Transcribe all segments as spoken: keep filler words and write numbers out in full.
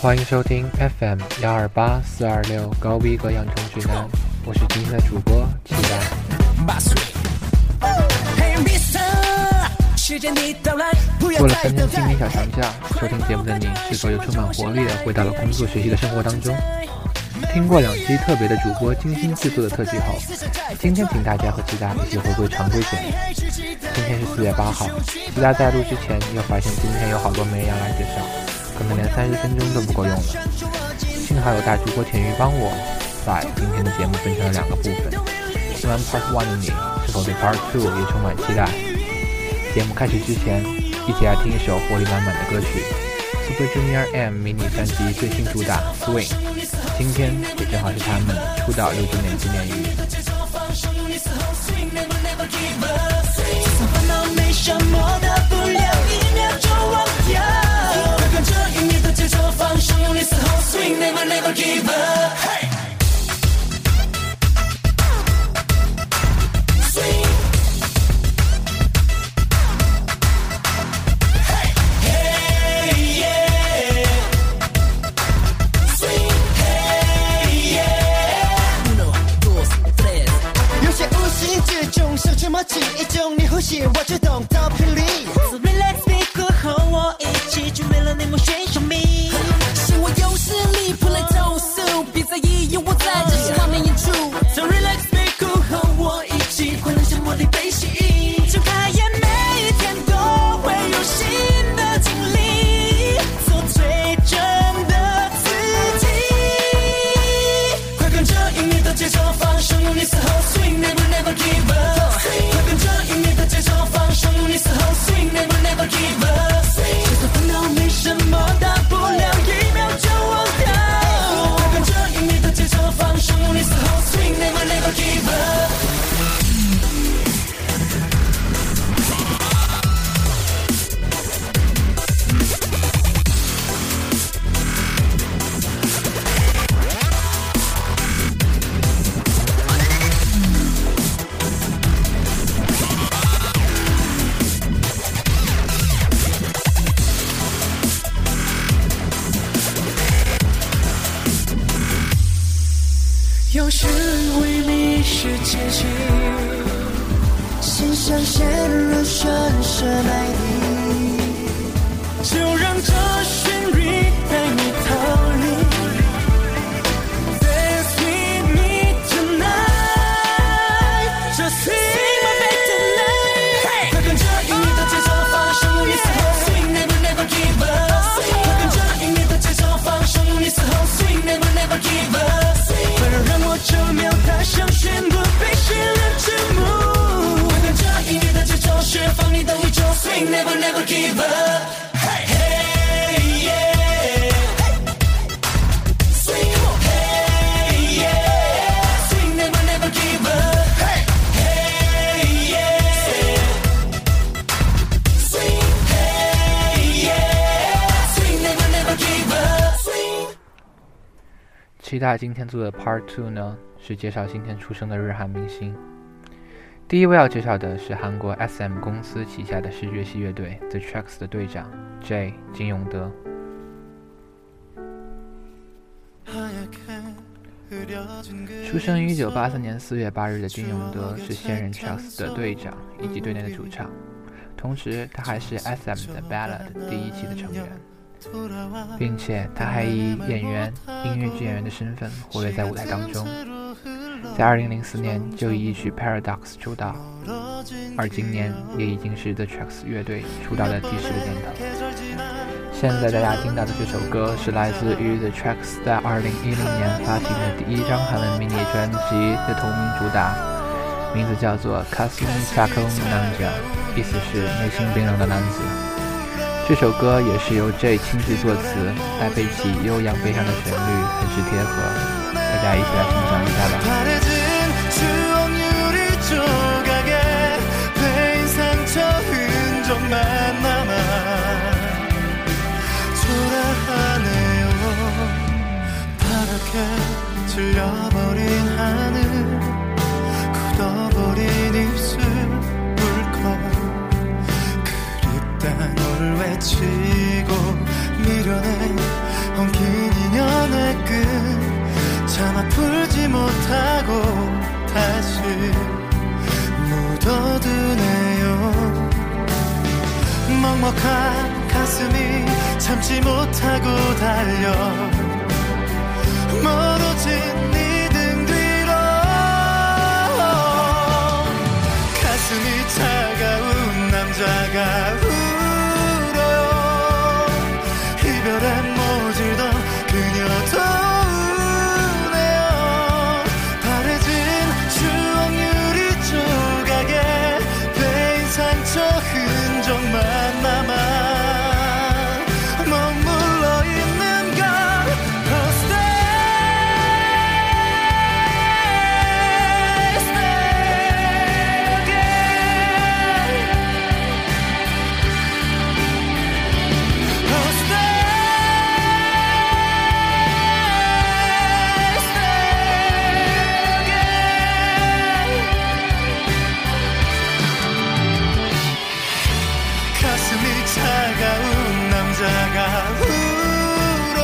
欢迎收听 F M 幺二八四二六高逼格养成指南，我是今天的主播期待。过了三天清明小长假，收听节目的你是否又充满活力的回到了工作学习的生活当中？听过两期特别的主播精心制作的特辑后，今天请大家和期待一起回归常规节目。今天是四月八号，期待在录之前又发现今天有好多没人要来介绍，可能连三十分钟都不够用了。幸好有大主播田鱼帮我把今天的节目分成了两个部分。听完 Part One 的你是否对 Part Two 也充满期待？节目开始之前，一起来听一首活力满满的歌曲 Super Junior M 迷你专辑最新主打 Swing， 今天也正好是他们出道六周年纪念日。 一种你呼吸我就懂到霹雳 So relax be cool 和我一起准备了内幕选手名是我有实力不来投诉别在意有我在这是画面演出 So relax be cool 和我一起快乐像魔力被吸引睁开眼每一天都会有新的经历做最真的自己快跟着音乐的节奏放手用力嘶吼 Swing never never give up Never never give up 就算烦恼没什么大不了一秒就忘掉跟着音乐的节奏放手用力嘶吼 Swing never never give up有时会迷失前行心上陷入深深爱你就让这旋律带你逃离 Dance with me tonight Just sing my back tonight 快跟着音乐的节奏放手用力嘶吼 Swing never never give up 快跟着音乐的节奏放手用力嘶吼 Swing never never give up让我这秒踏上宣布被世人瞩目跟着音乐的节奏释放你的宇宙 Swing never never give up Hey hey yeah Swing Hey yeah Swing never never give up Hey hey yeah Swing Hey yeah Swing never never give up Swing 期待今天做的 Part Two 呢，是介绍今天出生的日韩明星。第一位要介绍的是韩国 S M 公司旗下的视觉系乐队 The Tracks 的队长 J 金永德。出生于一九八三年四月八日的金永德是现任 Tracks 的队长以及队内的主唱，同时他还是 S M 的 Ballad 第一期的成员。并且他还以演员、音乐剧演员的身份活跃在舞台当中，在二零零四年就以一曲 Paradox 出道，而今年也已经是 The Tracks 乐队出道的第十个年头。现在大家听到的这首歌是来自于 The Tracks 在二零一零年发行的第一张韩文迷你专辑的同名主打，名字叫做 가슴이 차가운 남자， 意思是内心冰冷的男子。这首歌也是由 J 亲自作词，搭配起悠扬悲伤的旋律，很是贴合。大家一起来欣赏一下吧。 외치고 밀어낸 온기 먹먹한 가슴이 참지 못하고 달려 멀어진 네 등 뒤로 가슴이 차가운 남자가 울어요 이별에 모질던 그녀도 우네요 바래진 추억 유리 조각에 베인 상처 흔적만 남아 머물러 있는 건 차가운 남자가 울어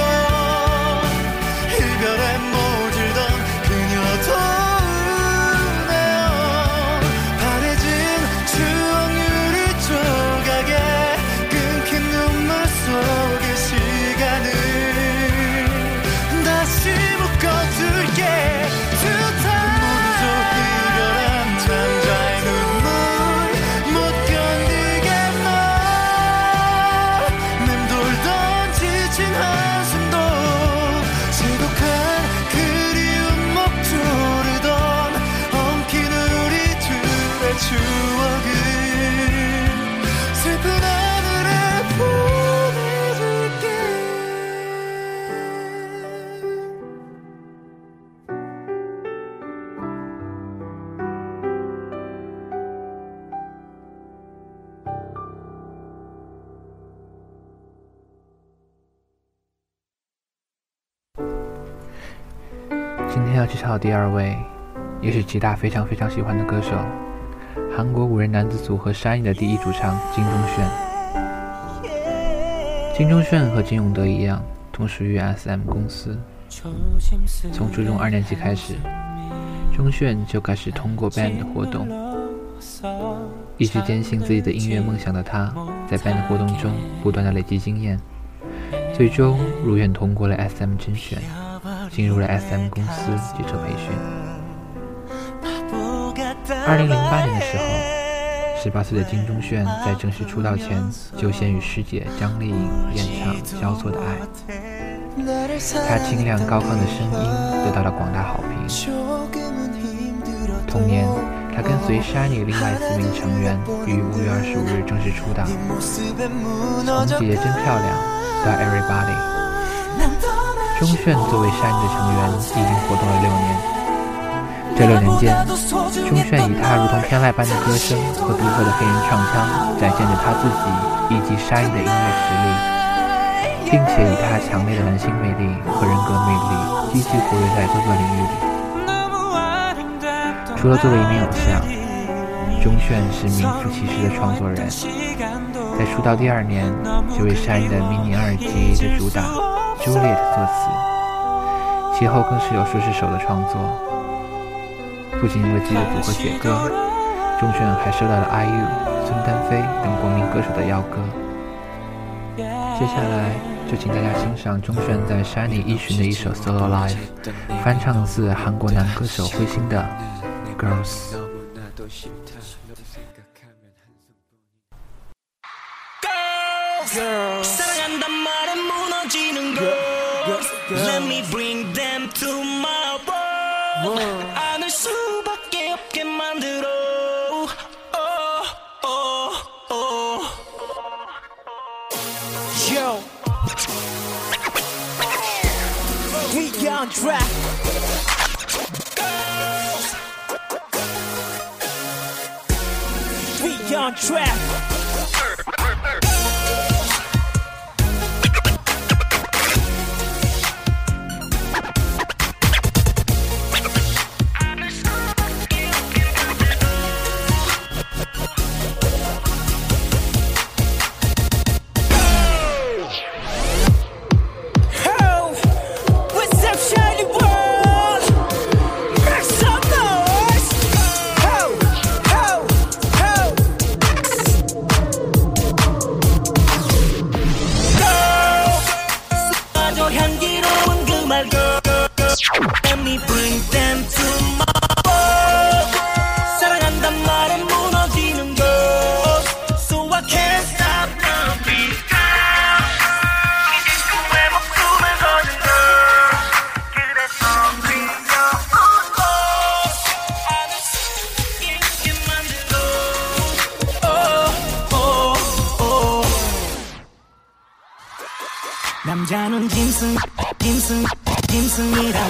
이별에 모질던 그녀도 우네요 바래진 추억 유리 조각에 끊긴 눈물 속의 시간을 다시 묶어둘게 눈물로 이별한 남자의 눈물 못 견디게 지친 한숨도 지독한 그리움 먹조르던 엉킨 우리 둘의 추억을 슬픈 하늘에 보내줄게 今天要介绍的第二位，也是吉大非常非常喜欢的歌手，韩国五人男子组合SHINee的第一主唱金钟铉。金钟铉和金永德一样，同属于 S M 公司。从初中二年级开始，钟铉就开始通过 band 的活动。一直坚信自己的音乐梦想的他，在 band 的活动中不断的累积经验，最终如愿通过了 S M 甄选。进入了 S M 公司接受培训。二零零八年的时候，十八岁的金钟铉在正式出道前就先与师姐张丽颖演唱《交错的爱》，她清亮高亢的声音得到了广大好评。同年，她跟随 SHINee 另外四名成员于五月二十五日正式出道，从姐姐真漂亮到 Everybody。钟铉作为SHINee的成员已经活动了六年，这六年间，钟铉以他如同天籁般的歌声和独特的黑人唱腔，展现着他自己以及SHINee的音乐实力，并且以他强烈的男性魅力和人格魅力，积极活跃在各个领域里。除了作为一名偶像，钟铉是名副其实的创作人，在出道第二年就为SHINee的迷你二辑的主打Juliet 作词，其后更是有数十首的创作。不仅为自己的组合写歌，钟铉还收到了 I U、孙丹菲等国民歌手的邀歌。接下来就请大家欣赏钟铉在 SHINee 一巡的一首 Solo Live， 翻唱自韩国男歌手灰心的 Girls。 Let me bring them to my world. 안을 수밖에 없게 만들어. Oh, oh, oh. Yo, we on track. Girls, we on track. 남자는 짐승 짐승 짐승이란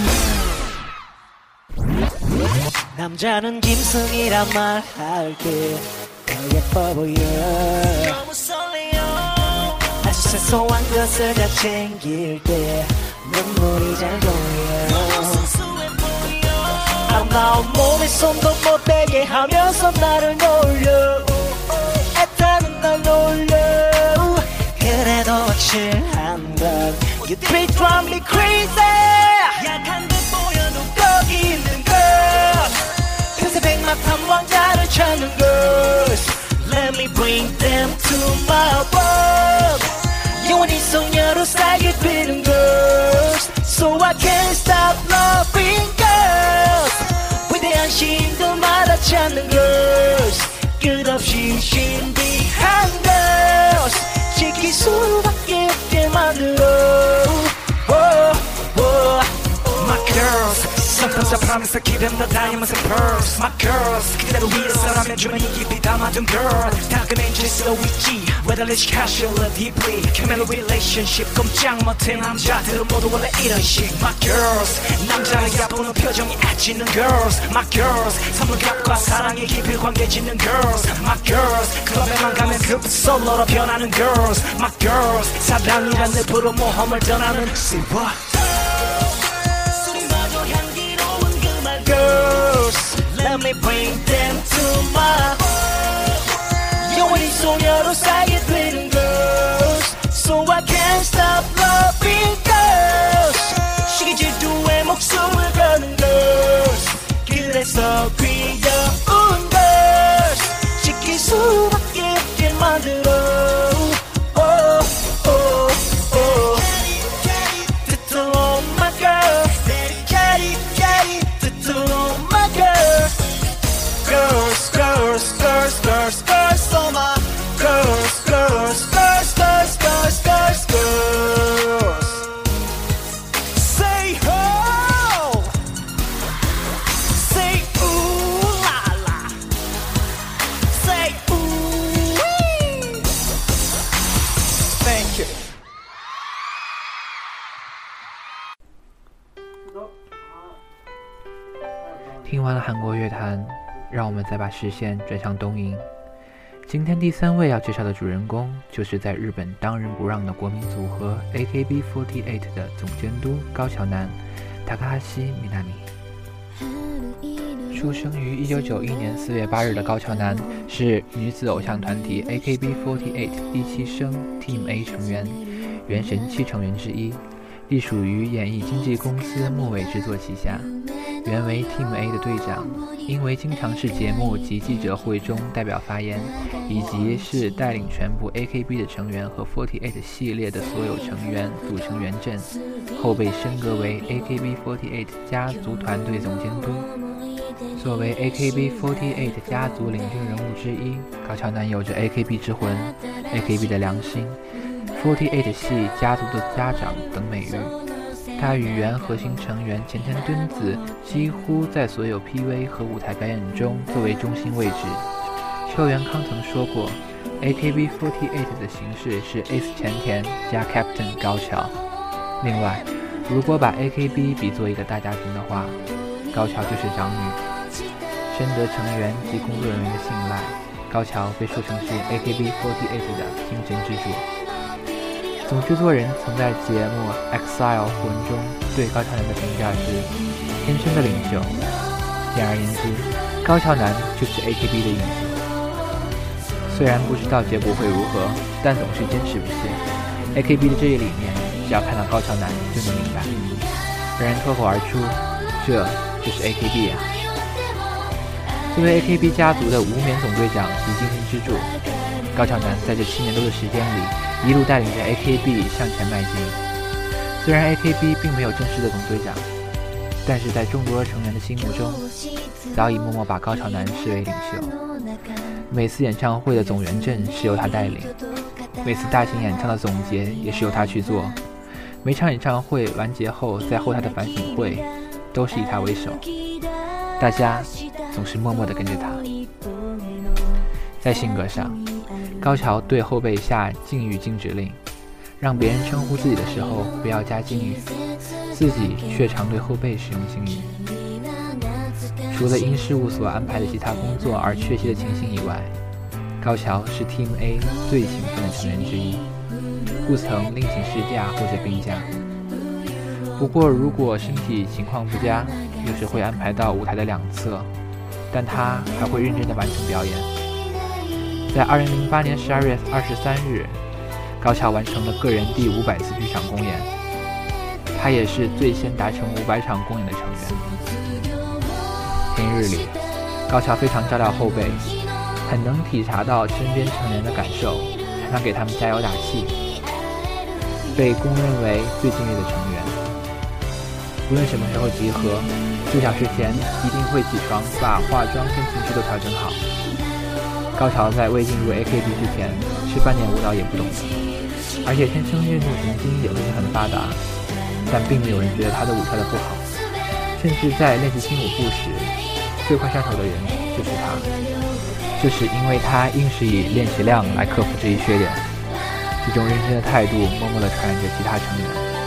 남자는 짐승이란 말 할 때 더 예뻐 보여 너무 설레요 아주 사소한 것을 다 챙길 때 눈물이 잘 보여 너무 순수해 보여 아름다운 몸에 손도 못 대게 하면서 나를 놀려 애타는 날 놀려 그래도 확실한 건 You drive me crazy 약한 듯 보여도 거기 있는 것 틈새 백마탄 왕자를 찾는 것 Let me bring them to my world 영원히 소녀로 살게 되는 것 So I can't stop loving girls 위대한 신들마다 찾는 것 끝없이 신비한 것 지킬 수밖에 없게 만들어 oh, oh. My girls Sometimes I promise I keep them the diamonds and pearls My girls 그대로 위해서라면 주머니 깊이 담아둔 girl 다그맨 질서 있지 Whether it's casual or deeply Committed relationship 꼼짝 못해 남자들은 모두 원래 이런 식 My girls 남자를 얕보는 표정이 애지는 girls My girls 선물값과 사랑의 깊이 관계 짓는 girls My girls 클럽에만 가면 급 솔로로 변하는 girls My girls 사랑이란 늪으로 모험을 떠나는 See what? Girls, let me bring them to my 영원히 소녀로 살게 되는 girls So I can't stop loving girls 시기 질투에 목숨을 거는 girls 그래서 귀여운 girls 지킬 수밖에 없게 만들어 oh, oh, oh. To all my girls To all my girls, girls, girls, girls, girls, girls, all my girls, girls, girls, girls, girls, girls, girls. Say ho, say ooh la la, say ooh wee. Thank you. 听完了韩国乐坛，让我们再把视线转向东瀛。今天第三位要介绍的主人公，就是在日本当仁不让的国民组合 A K B 四十八 的总监督高桥南 Takahashi Minami。出生于一九九一年四月八日的高桥南是女子偶像团体 A K B 四十八第七生 Team A 成员，原神七成员之一，隶属于演艺经纪公司木尾制作旗下。原为 Team A 的队长，因为经常是节目及记者会中代表发言，以及是带领全部 A K B 的成员和四十八系列的所有成员组成圆阵，后被升格为 A K B 四十八家族团队总监督。作为 A K B 四十八家族领军人物之一，高桥南有着 A K B 之魂、A K B 的良心、四十八系家族的家长等美誉。他与原核心成员前田敦子几乎在所有 P V 和舞台表演中作为中心位置。秋元康曾说过 A K B 四十八的形式是 Ace 前田加 Captain 高桥。另外，如果把 A K B 比作一个大家庭的话，高桥就是长女，深得成员及工作人员的信赖。高桥被说成是 A K B 四十八的精神支柱。总制作人曾在节目 Exile 魂中对高桥南的评价是天生的领袖。简而言之，高桥南就是 A K B 的影子。虽然不知道结果会如何，但总是坚持不懈。A K B 的这一理念，只要看到高桥南就能明白。让人脱口而出，这就是 A K B 啊！作为 A K B 家族的无冕总队长及精神支柱，高桥南在这七年多的时间里，一路带领着 A K B 向前迈进。虽然 A K B 并没有正式的总队长，但是在众多成员的心目中，早已默默把高桥南视为领袖。每次演唱会的总圆阵是由他带领，每次大型演唱的总结也是由他去做。每场演唱会完结后，在后台的反省会都是以他为首，大家总是默默地跟着他。在性格上，高桥对后辈下禁欲禁止令， 让别人称呼自己的时候不要加敬语，自己却常对后辈使用敬语。除了因事务所安排的其他工作而缺席的情形以外，高桥是 Team A 最勤奋的成员之一，不曾另请事假或者病假。不过如果身体情况不佳，有时会安排到舞台的两侧，但他还会认真地完成表演。在二零零八年十二月二十三日，高桥完成了个人第五百次剧场公演，他也是最先达成五百场公演的成员。平日里，高桥非常照料后辈，很能体察到身边成员的感受，常常给他们加油打气，被公认为最敬业的成员。无论什么时候集合，数小时前一定会起床把化妆跟情绪都调整好。高桥在未进入 A K B 之前是半点舞蹈也不懂的，而且天生运动神经也不是很发达，但并没有人觉得他的舞跳得不好，甚至在练习新舞步时，最快上手的人就是他。这是因为他硬是以练习量来克服这一缺点，这种认真的态度默默地传染着其他成员，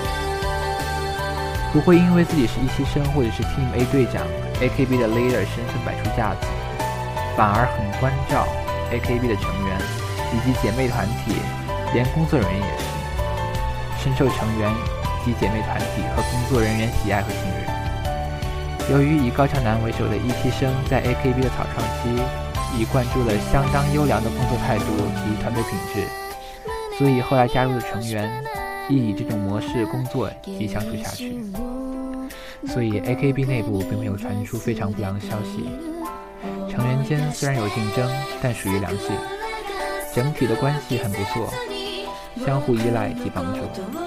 不会因为自己是一期生或者是 Team A 队长 A K B 的 leader 身份摆出架子，反而很关照 A K B 的成员以及姐妹团体，连工作人员也是，深受成员及姐妹团体和工作人员喜爱和信任。由于以高桥南为首的一期生在 A K B 的草创期已灌注了相当优良的工作态度及团队品质，所以后来加入的成员亦以这种模式工作及相处下去。所以 A K B 内部并没有传出非常不良的消息，成员间虽然有竞争，但属于良性，整体的关系很不错，相互依赖及帮助。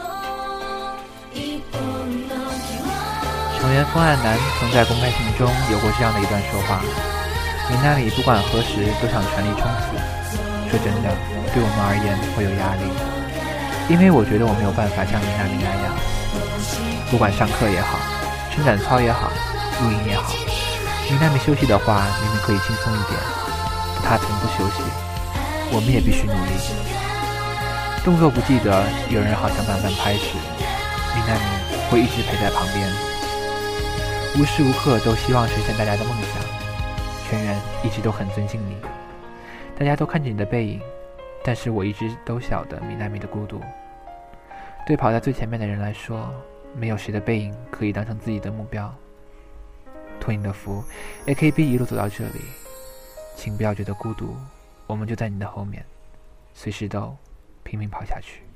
成员风岸南曾在公开信中有过这样的一段说话：米娜里不管何时都想全力冲刺，说真的，对我们而言会有压力，因为我觉得我没有办法像米娜里那样，不管上课也好，伸展操也好，录音也好，米娜米休息的话明明可以轻松一点，她从不休息，我们也必须努力。动作不记得，有人好像慢慢拍时，米娜米会一直陪在旁边，无时无刻都希望实现大家的梦想。全员一直都很尊敬你，大家都看着你的背影，但是我一直都晓得米娜米的孤独。对跑在最前面的人来说，没有谁的背影可以当成自己的目标。托你的福 A K B 一路走到这里，请不要觉得孤独，我们就在你的后面，随时都拼命跑下去。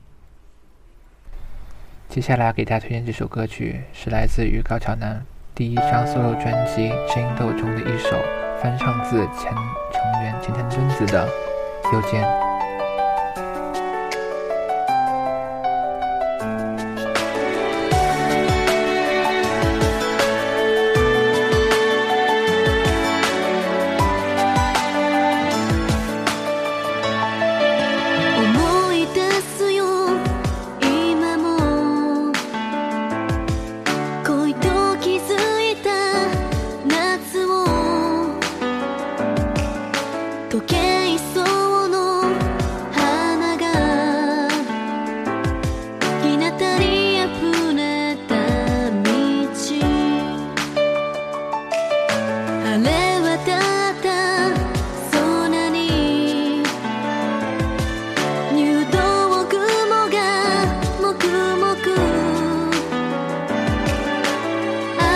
接下来给大家推荐这首歌曲，是来自于高桥南第一张 solo 专辑《争斗》中的一首翻唱自前成员前田敦子的《右肩》。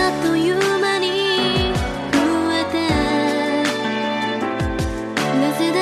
なぜだ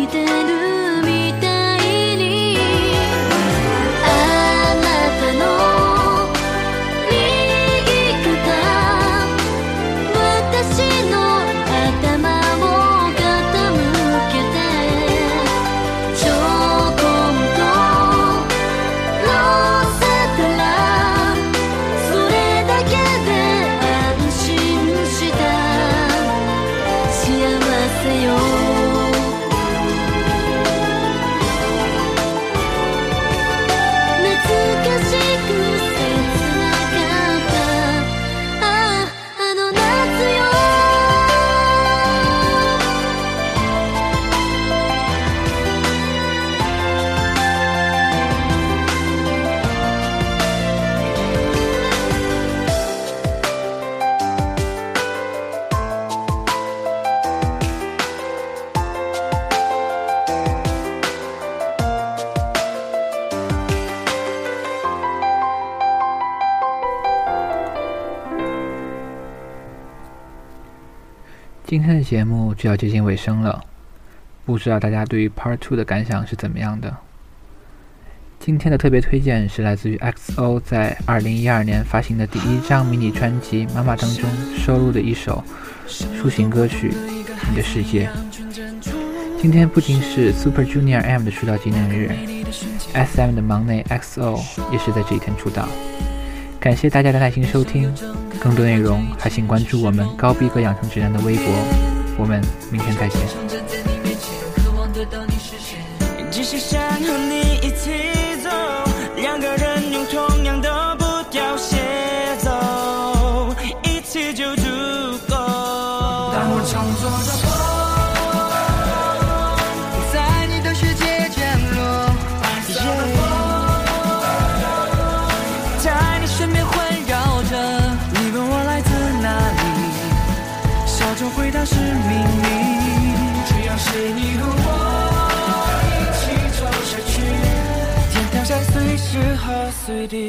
いてるみたいにあなたの右肩私の頭を傾けてちょこんと乗せたらそれだけで安心した幸せよ懐かしく切なかったあああの夏よ今天的节目就要接近尾声了，不知道大家对于 Part 二 的感想是怎么样的？今天的特别推荐是来自于 X O 在二零一二年发行的第一张迷你专辑《妈妈》当中收录的一首抒情歌曲《你的世界》。今天不仅是 Super Junior M 的出道纪念日， S M 的忙内 X O 也是在这一天出道。感谢大家的耐心收听，更多内容还请关注我们高逼格养成指南的微博，我们明天再见。 只是想和你一起走，两个人用同样的步调协奏，一起就足够。当我乘坐着风在你的世界降落，在你身边环绕着，你问我来自哪里，笑着回答是秘密，只要是你和我一起走下去，天堂在随时和随地，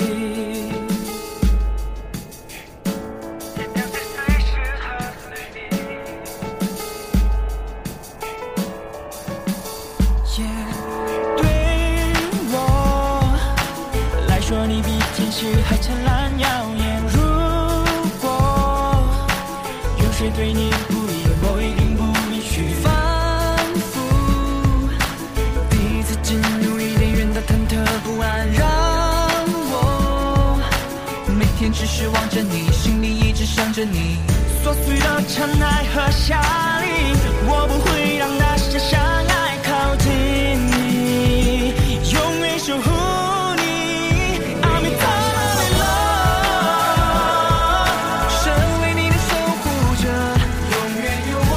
天堂在随时和随地。Yeah, 对我来说，你比天使还灿烂耀眼。如果有谁对你不义，我一定不允许。仿佛第一次进入伊甸园的忐忑不安，让我每天只是望着你，心里一直想着你。琐碎的尘埃和夏令，我不会让那些相爱靠近你，永远守护你。I'm eternally love， 身为你的守护者，永远有我。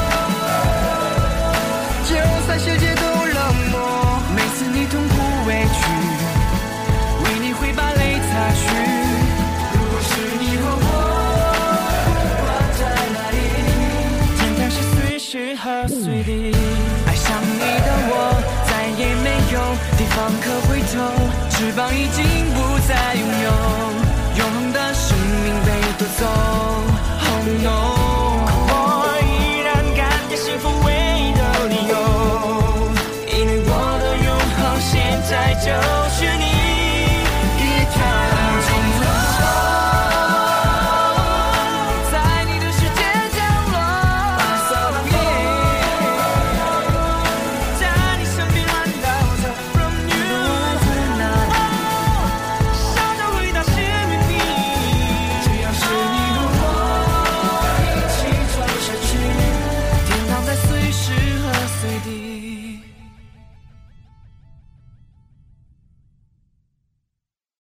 就算世界都冷漠，每次你痛苦委屈，为你会把泪擦去。如果是你和我，我在哪里？天堂是随时和随地。爱上你的我，再也没有地方可回头，翅膀已经不再拥有，永恒的生命被夺走。Oh no。